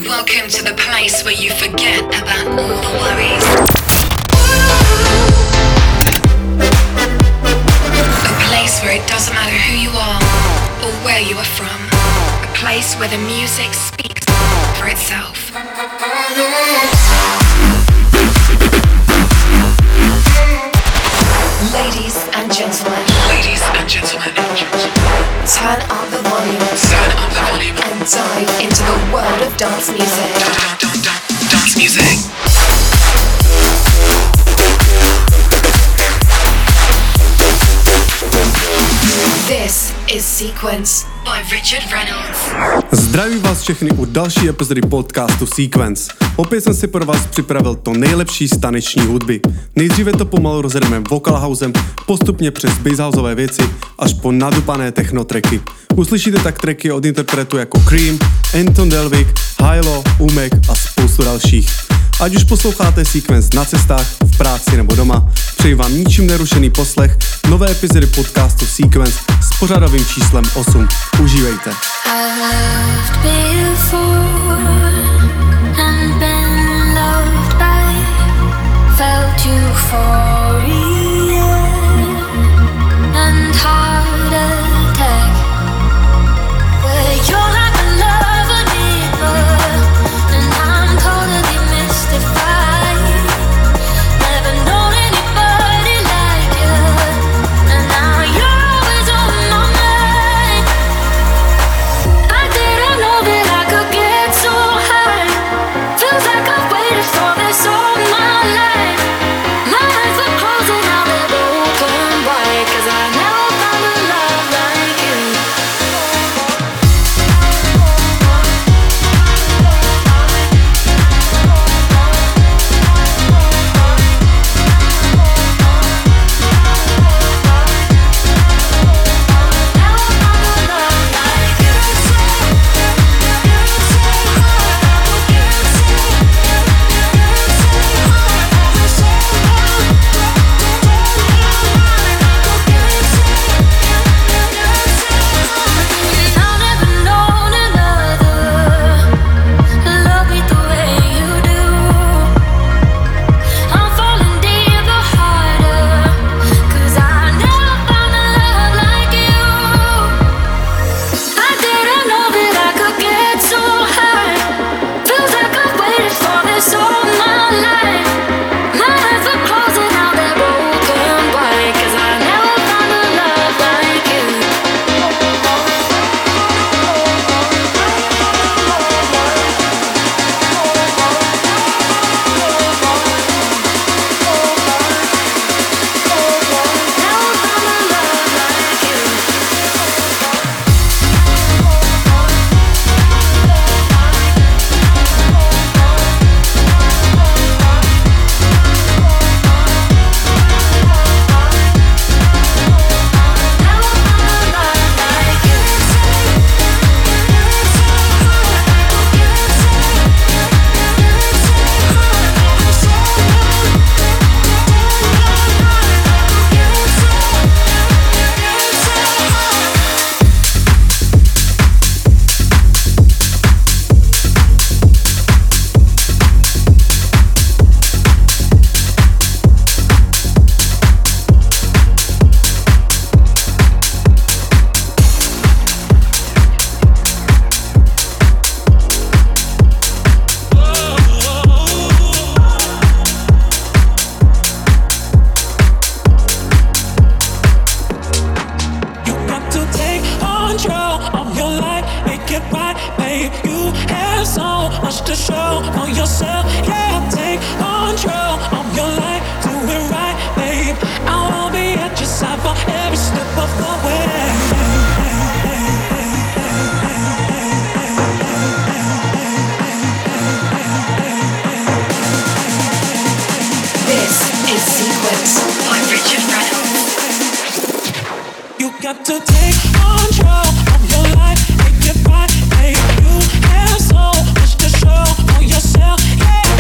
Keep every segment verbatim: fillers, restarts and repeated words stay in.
Welcome to the place where you forget about all the worries. A place where it doesn't matter who you are or where you are from. A place where the music speaks for itself. Ladies and gentlemen. Ladies and gentlemen. Turn up the volume. Turn up the volume. And dive into the world of dance music. Dance, dance, dance, dance music. This is Sequence by Richard Reynolds. Zdravím vás všechny u další epizody podcastu Sequence. Opět jsem si pro vás připravil to nejlepší z taneční hudby. Nejdříve to pomalu rozjedeme vocal housem, postupně přes basshouseové věci až po nadupané technotracky. Uslyšíte tak tracky od interpretů jako Cream, Anton Delvig, Hilo, Umek a spoustu dalších. Ať už posloucháte Sequence na cestách, v práci nebo doma, přeji vám ničím nerušený poslech nové epizody podcastu Sequence s pořadovým číslem osm. Užívejte. Yourself, yeah.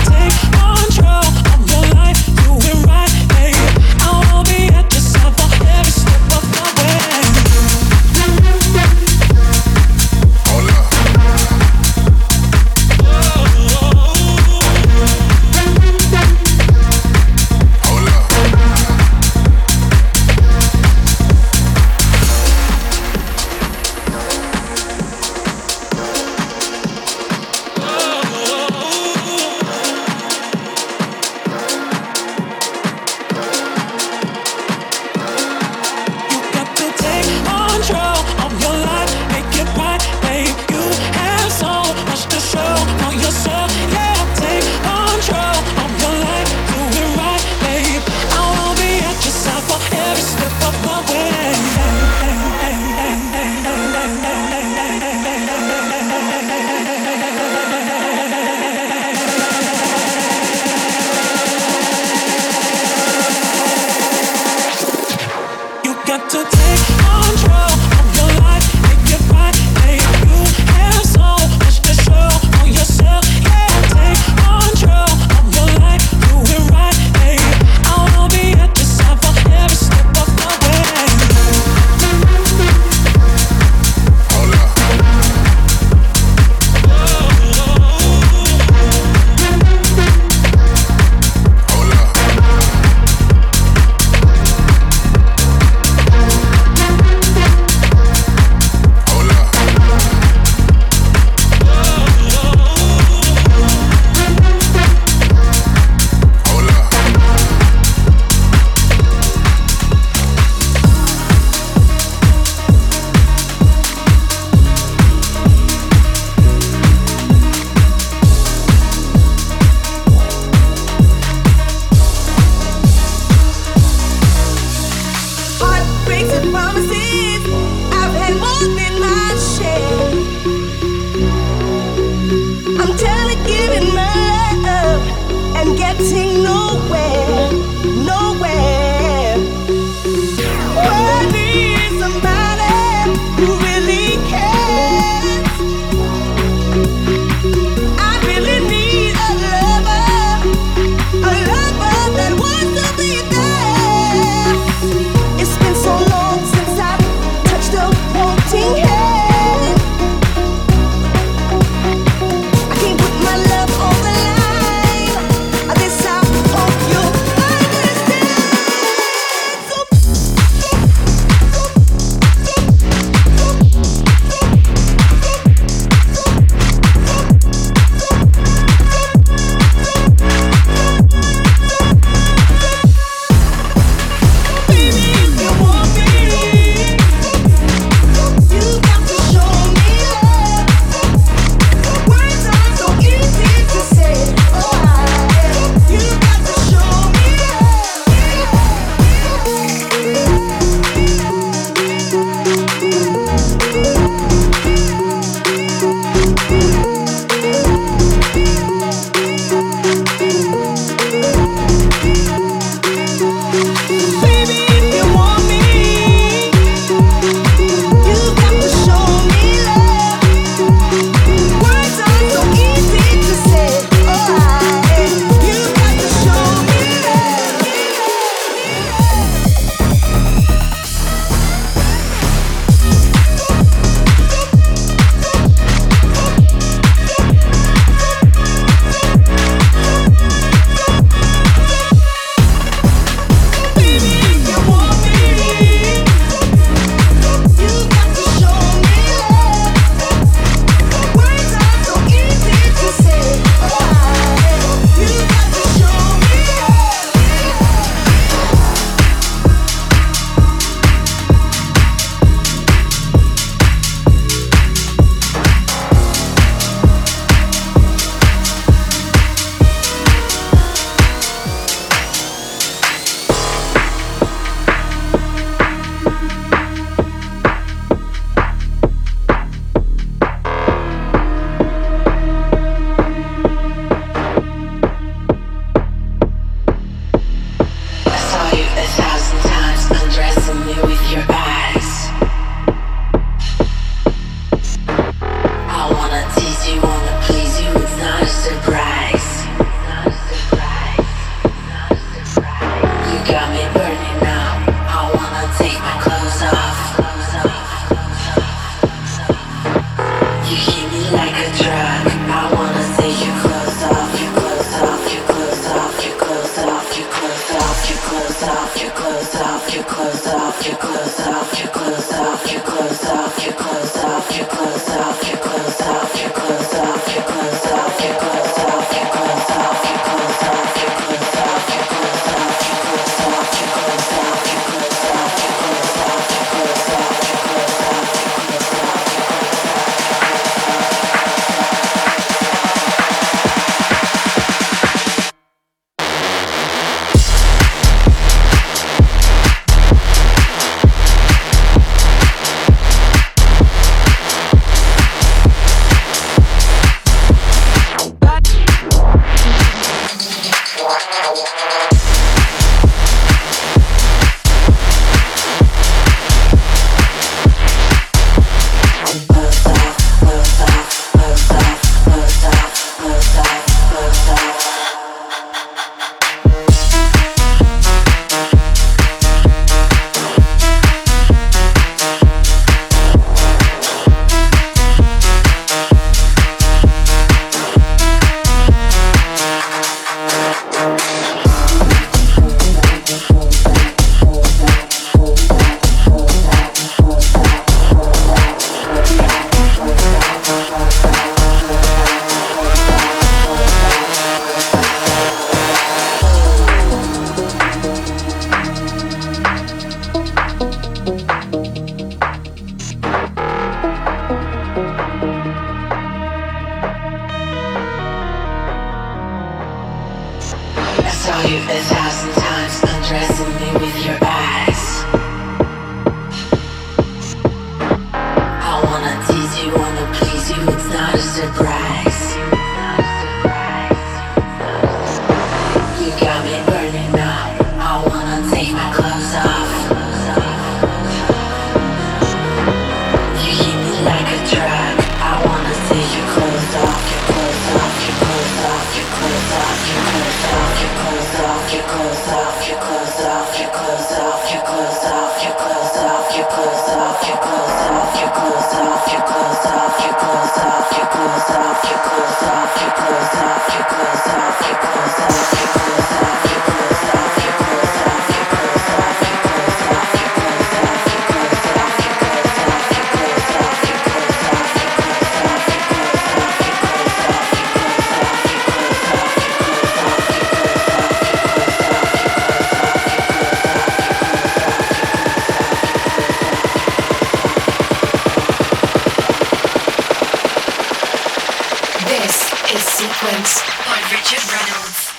is Sequence by Richard Reynolds.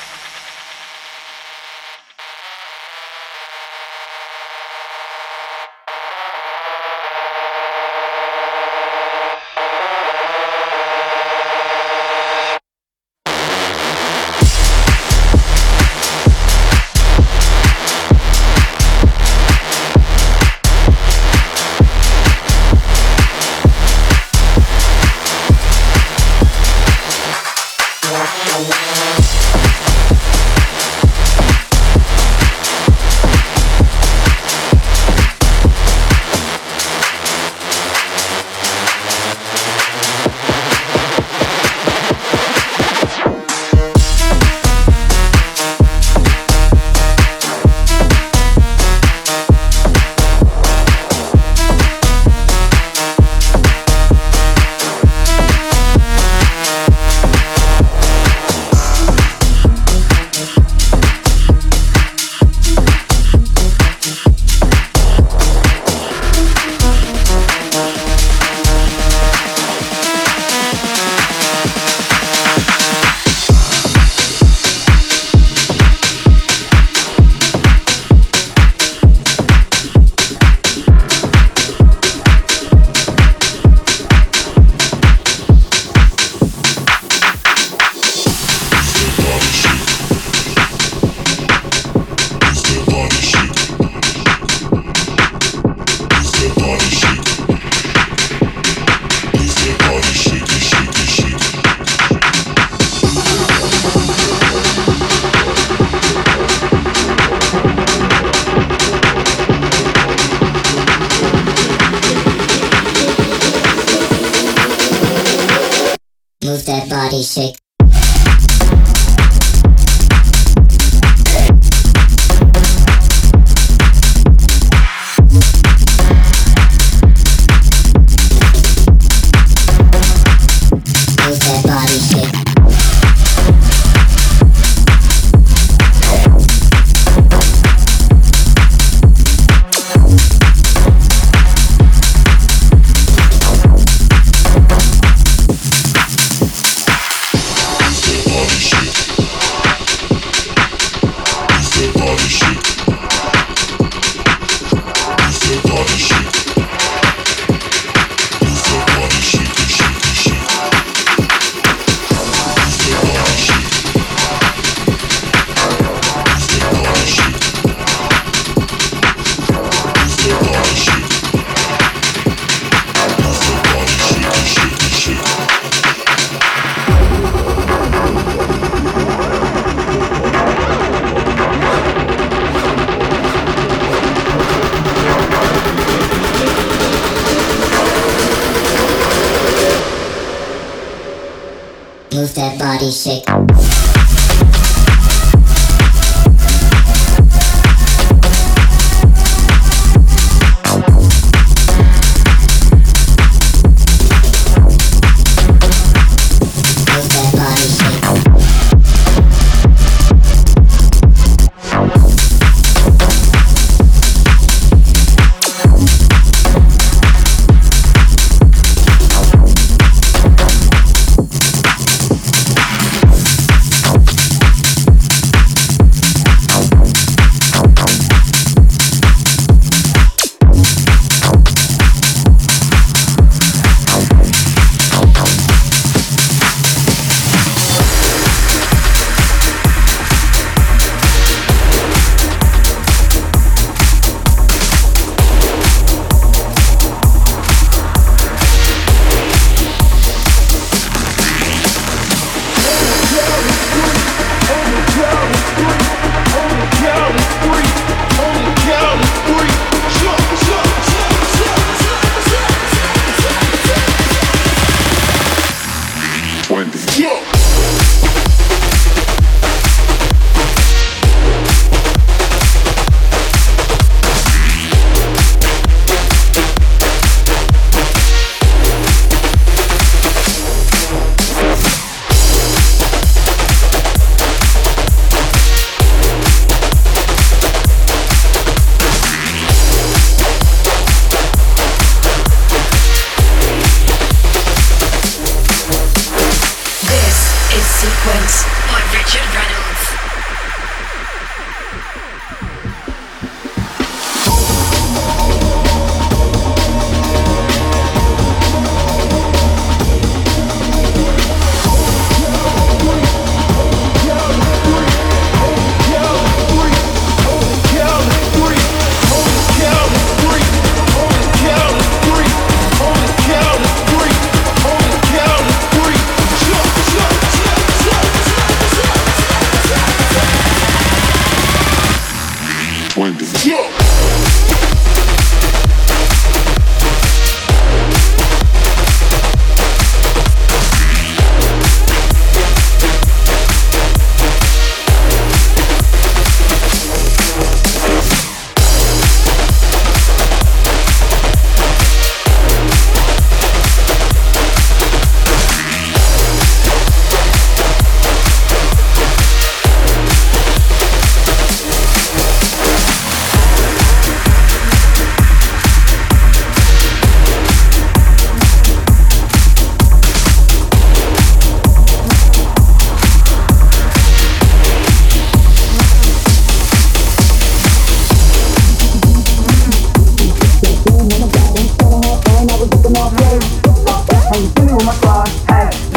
Move that body, shake. Move that body, shake. Move that body, shake.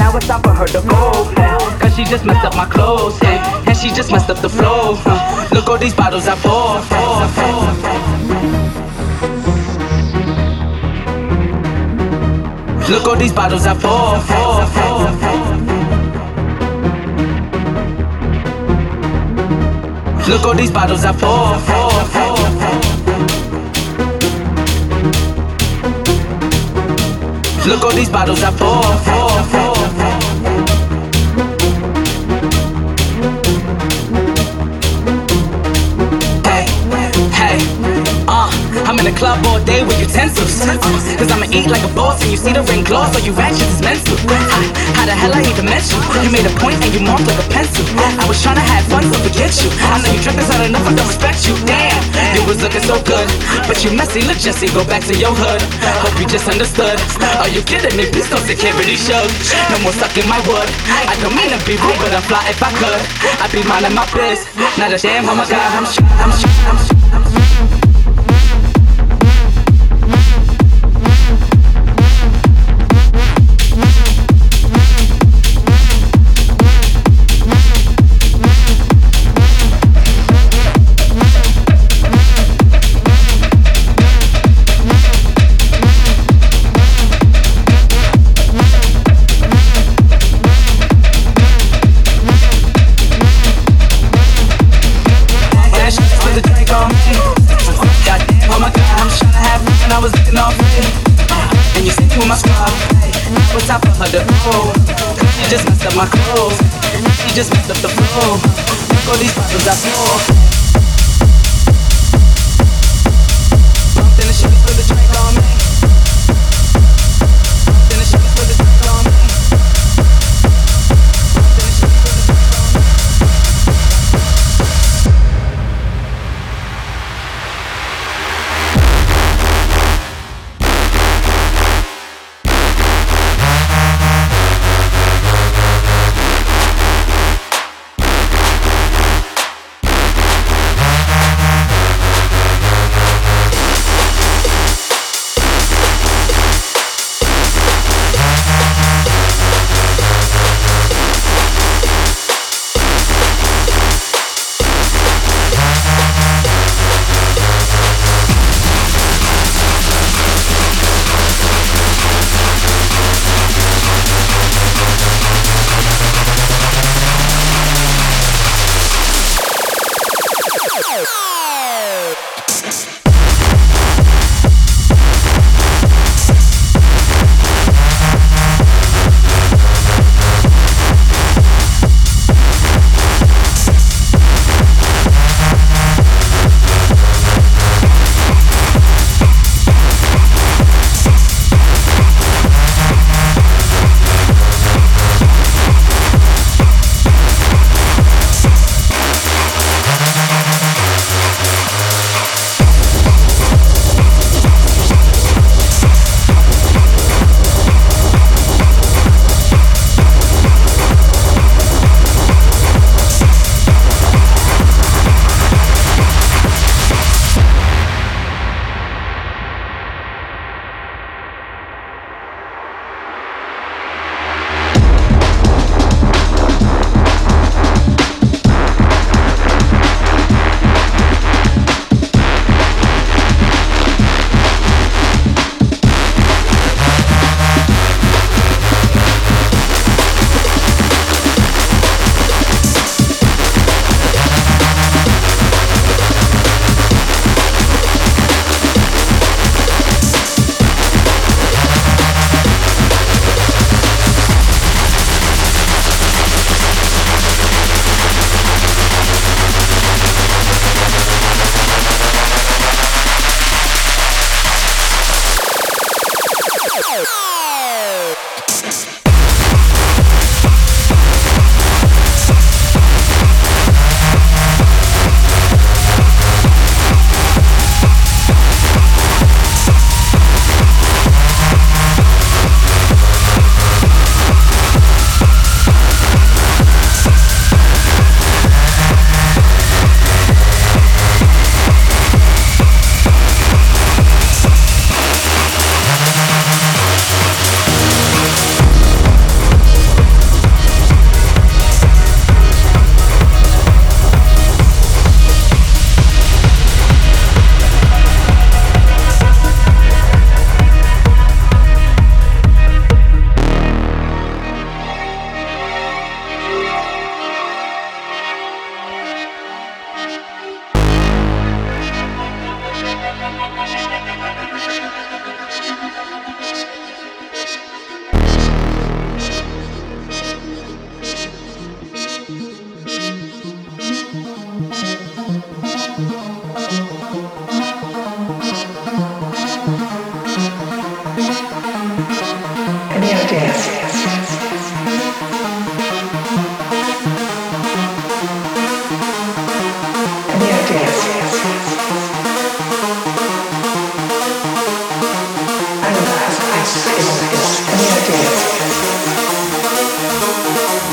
Now it's time for her to go. Cause she just messed up my clothes. And she just messed up the flow. Look all these bottles I pour. Look all these bottles I pour. Look all these bottles I pour. Look all these bottles I pour. Hey, hey, uh, I'm in the club all day with utensils. Uh, Cause I'ma eat like a boss and you see the ring gloss, so you ratchet is mental. Uh, how the hell I even met you? You made a point and you marked like a pencil. I was tryna have fun, so forget you. I know you trippin', not enough, I don't respect you. Damn, you was looking so good, but you messy, look Jesse, go back to your hood. Hope you just understood. Are you kidding me? Please don't security show. No more sucking my wood. I don't mean to be rude, but I'd fly if I could. I'd be minding my biz. Not a damn, oh my god, I'm sh- I'm sh- I'm sh- I'm sh- She just messed up my clothes. She just messed up the flow. Look all these bottles I pour. Then the shit is for the drink on me. Then the shit is for the drink on me. Then the shit is for the drink on me.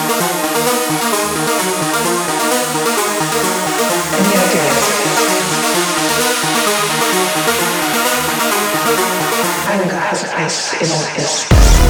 Anger has a place in all this.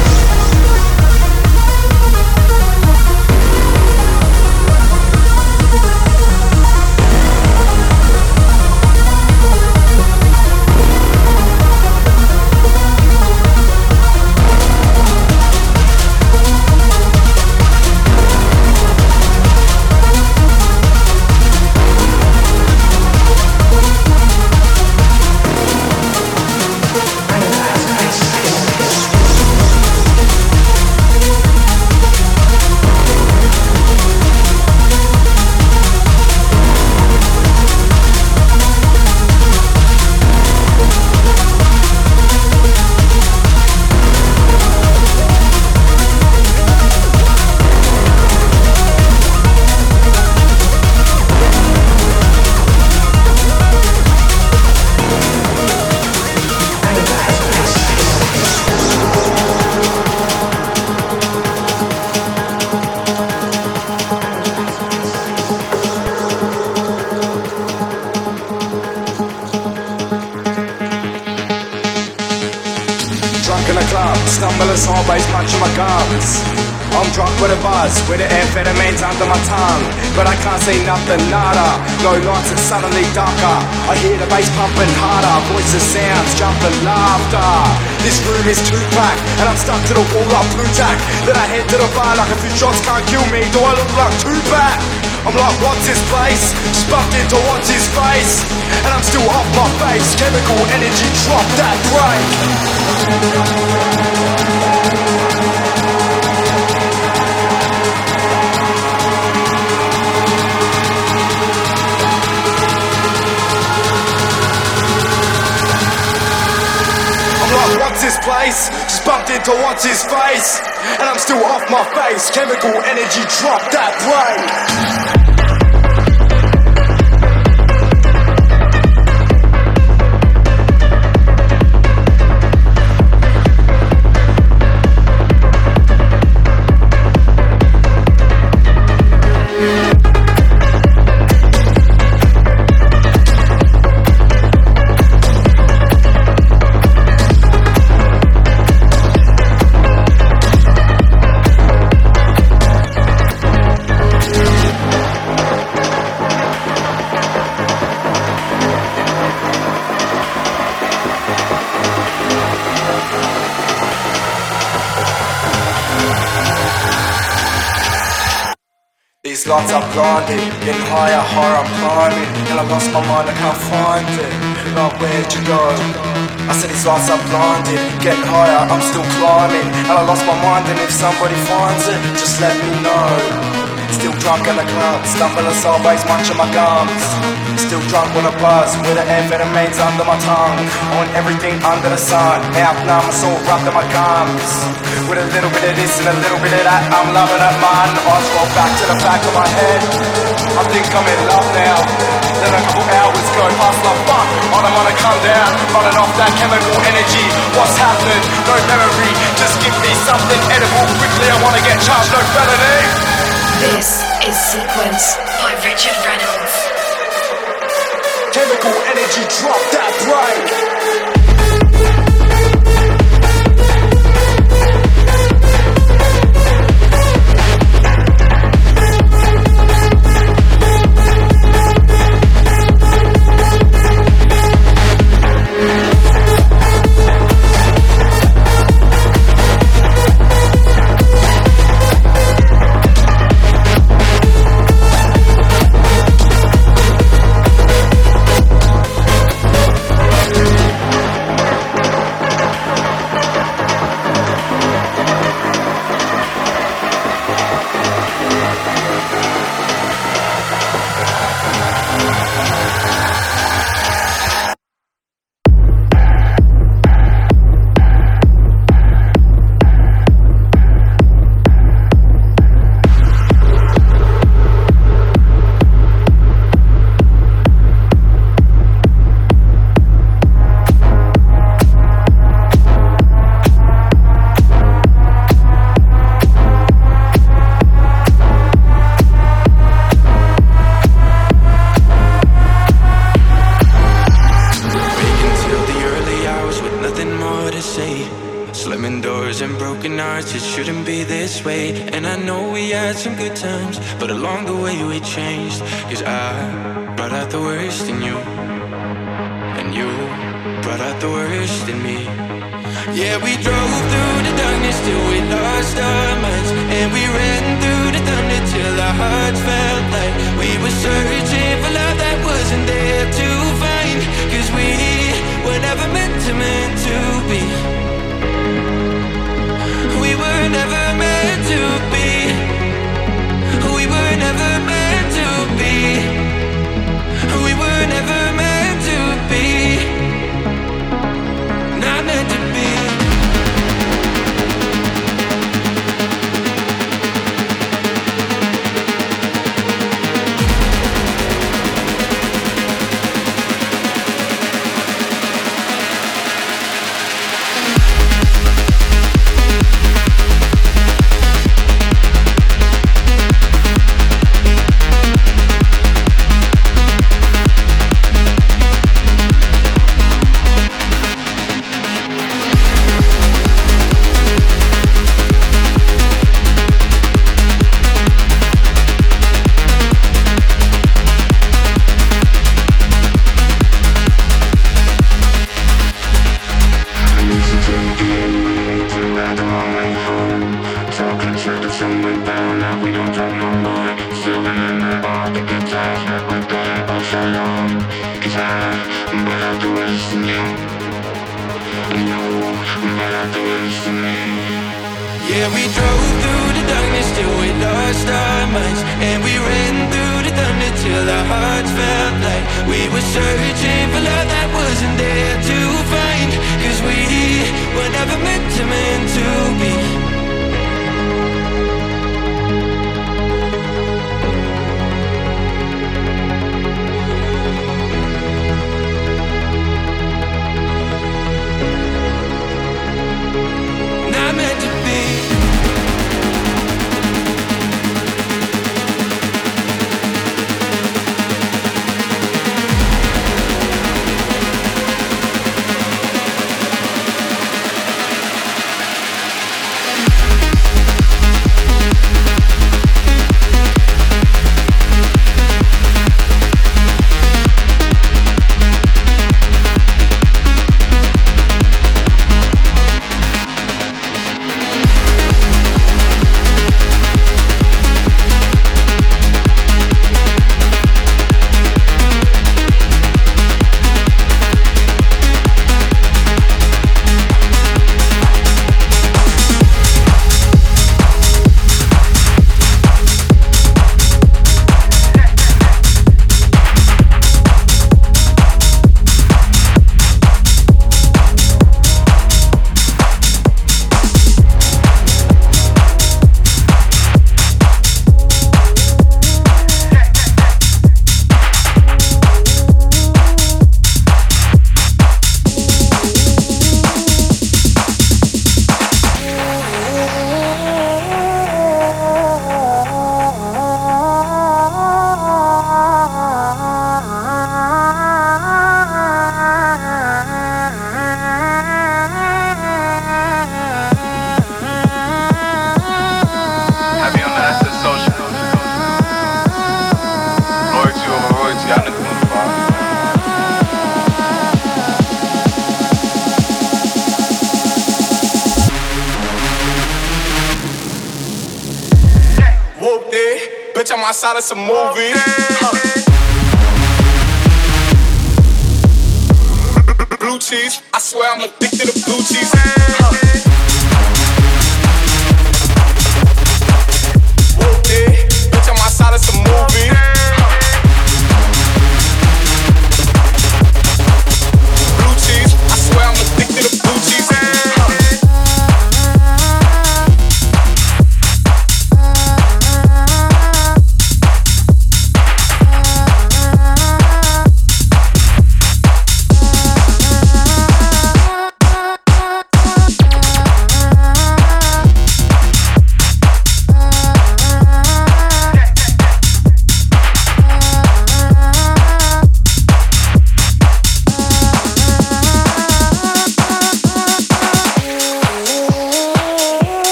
I'm drunk with a buzz, with the amphetamines under my tongue. But I can't see nothing, nada. No lights, it's suddenly darker. I hear the bass pumping harder. Voices, sounds, jumping, laughter. This room is too packed, and I'm stuck to the wall like blue tack. Then I head to the bar like a few shots can't kill me. Do I look like Tupac? I'm like, what's his place? Just bumped into what's his face. And I'm still off my face. Chemical energy, drop that break. What's his place? Just bumped into what's his face. And I'm still off my face. Chemical energy, drop that brain. These lights are blinded, getting higher, higher I'm climbing. And I lost my mind, I can't find it. Like, where'd you go? I said these lights are blinded, getting higher, I'm still climbing. And I lost my mind, and if somebody finds it, just let me know. Still drunk in the club, stumbling sideways, munching my gums. Still drunk with a buzz, with the amphetamines under my tongue. On everything under the sun, out numb, it's all rubbed in my gums. With a little bit of this and a little bit of that, I'm loving it, man. Eyes roll back to the back of my head. I think I'm in love now. Then a couple hours go past, like fuck, I don't wanna come down. Running off that chemical energy, what's happening? No memory, just give me something edible quickly. I wanna get charged, no felony. This is Sequence by Richard Reynolds. Chemical energy, drop that brain. it shouldn't be this way. And I know we had some good times, but along the way we changed. Cause I brought out the worst in you, and you brought out the worst in me. Yeah, we drove through the darkness till we lost our minds, and we ran through the thunder till our hearts felt like we were searching for love that wasn't there to find. Cause we were never meant to, meant to be. We were never meant to be. We were never meant to be. We were never meant to be. Not meant to be. Yeah, we drove through the darkness till we lost our minds, and we ran through the thunder till our hearts felt like we were searching for love that wasn't there to find. Cause we were never meant to, meant to be. Not meant to be. Bitch, I'm outside of some movie. Huh. Blue cheese, I swear I'm addicted to blue cheese. Huh. Whoop it, bitch, I'm outside of some movie. Huh. Blue cheese, I swear I'm addicted to blue cheese. Huh.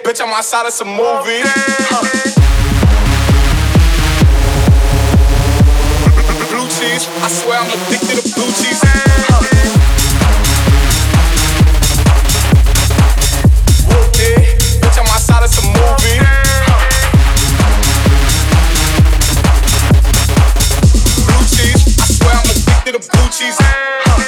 bitch, I'm outside of some movie. Huh. Blue cheese, I swear I'm addicted to blue cheese. Huh. Yeah, bitch, I'm outside of some movie. Huh. Blue cheese, I swear I'm addicted to blue cheese. Huh.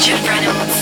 Richard Reynolds.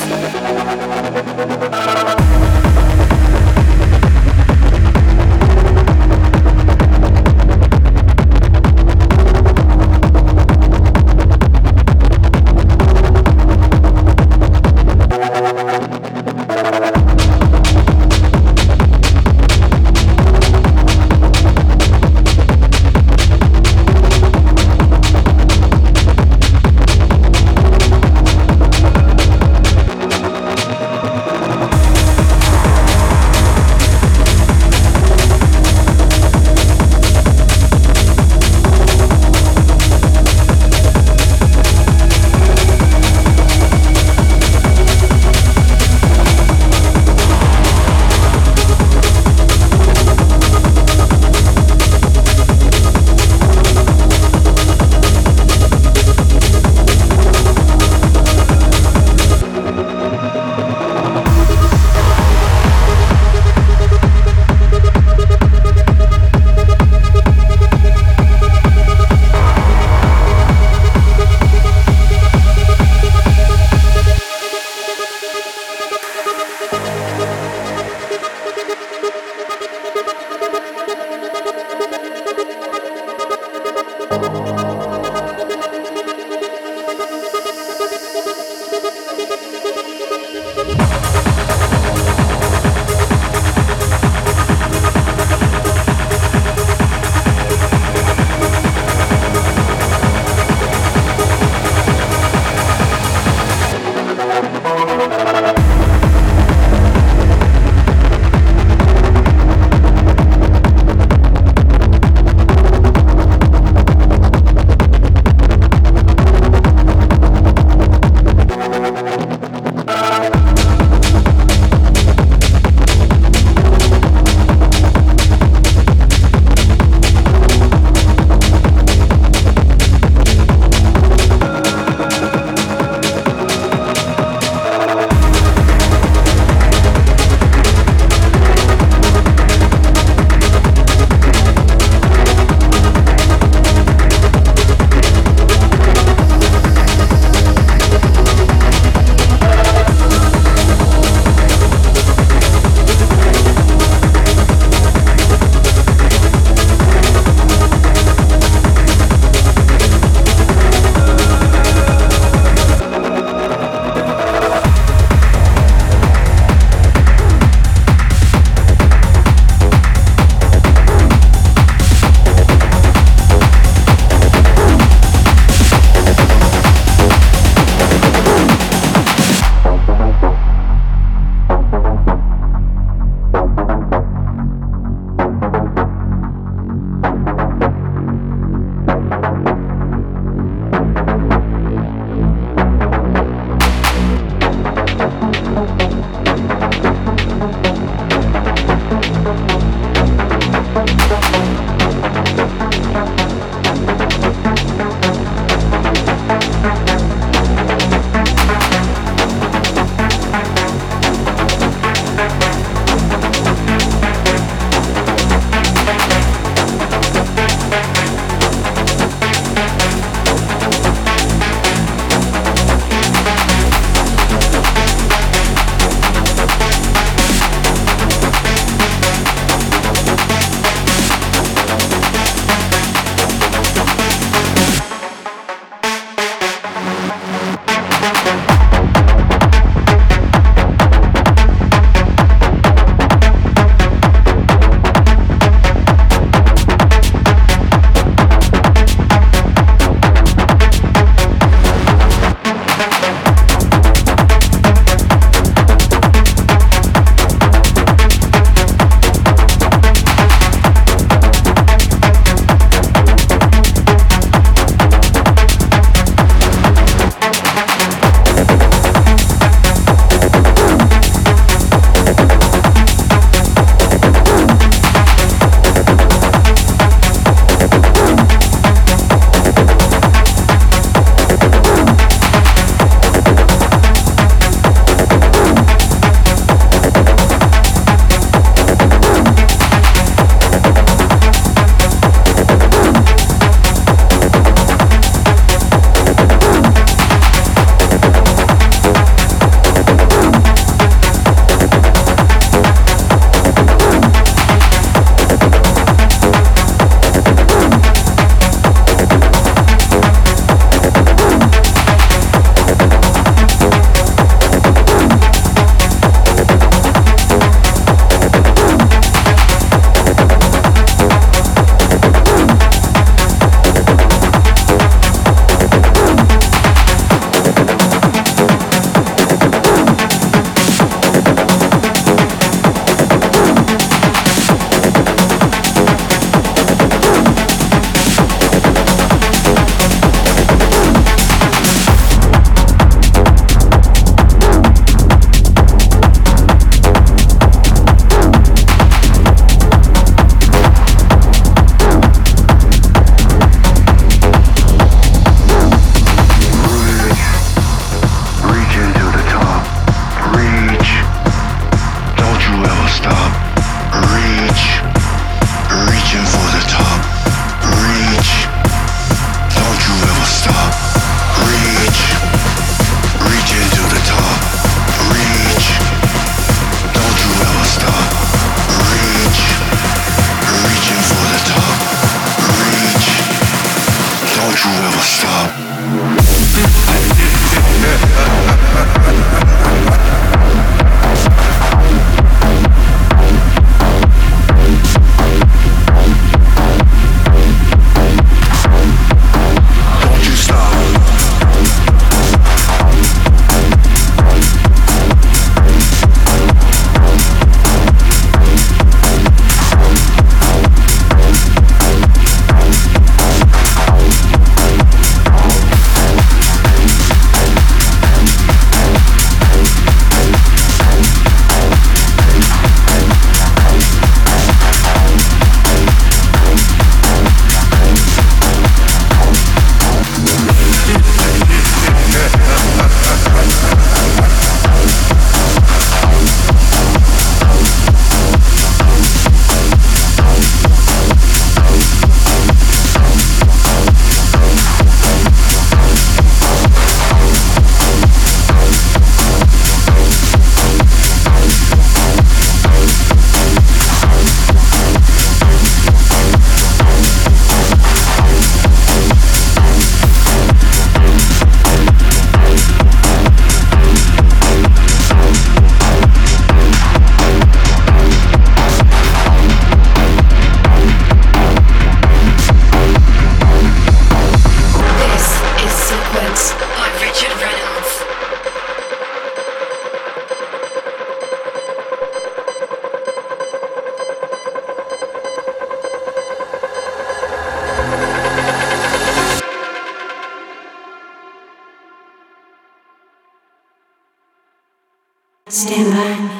Stand by.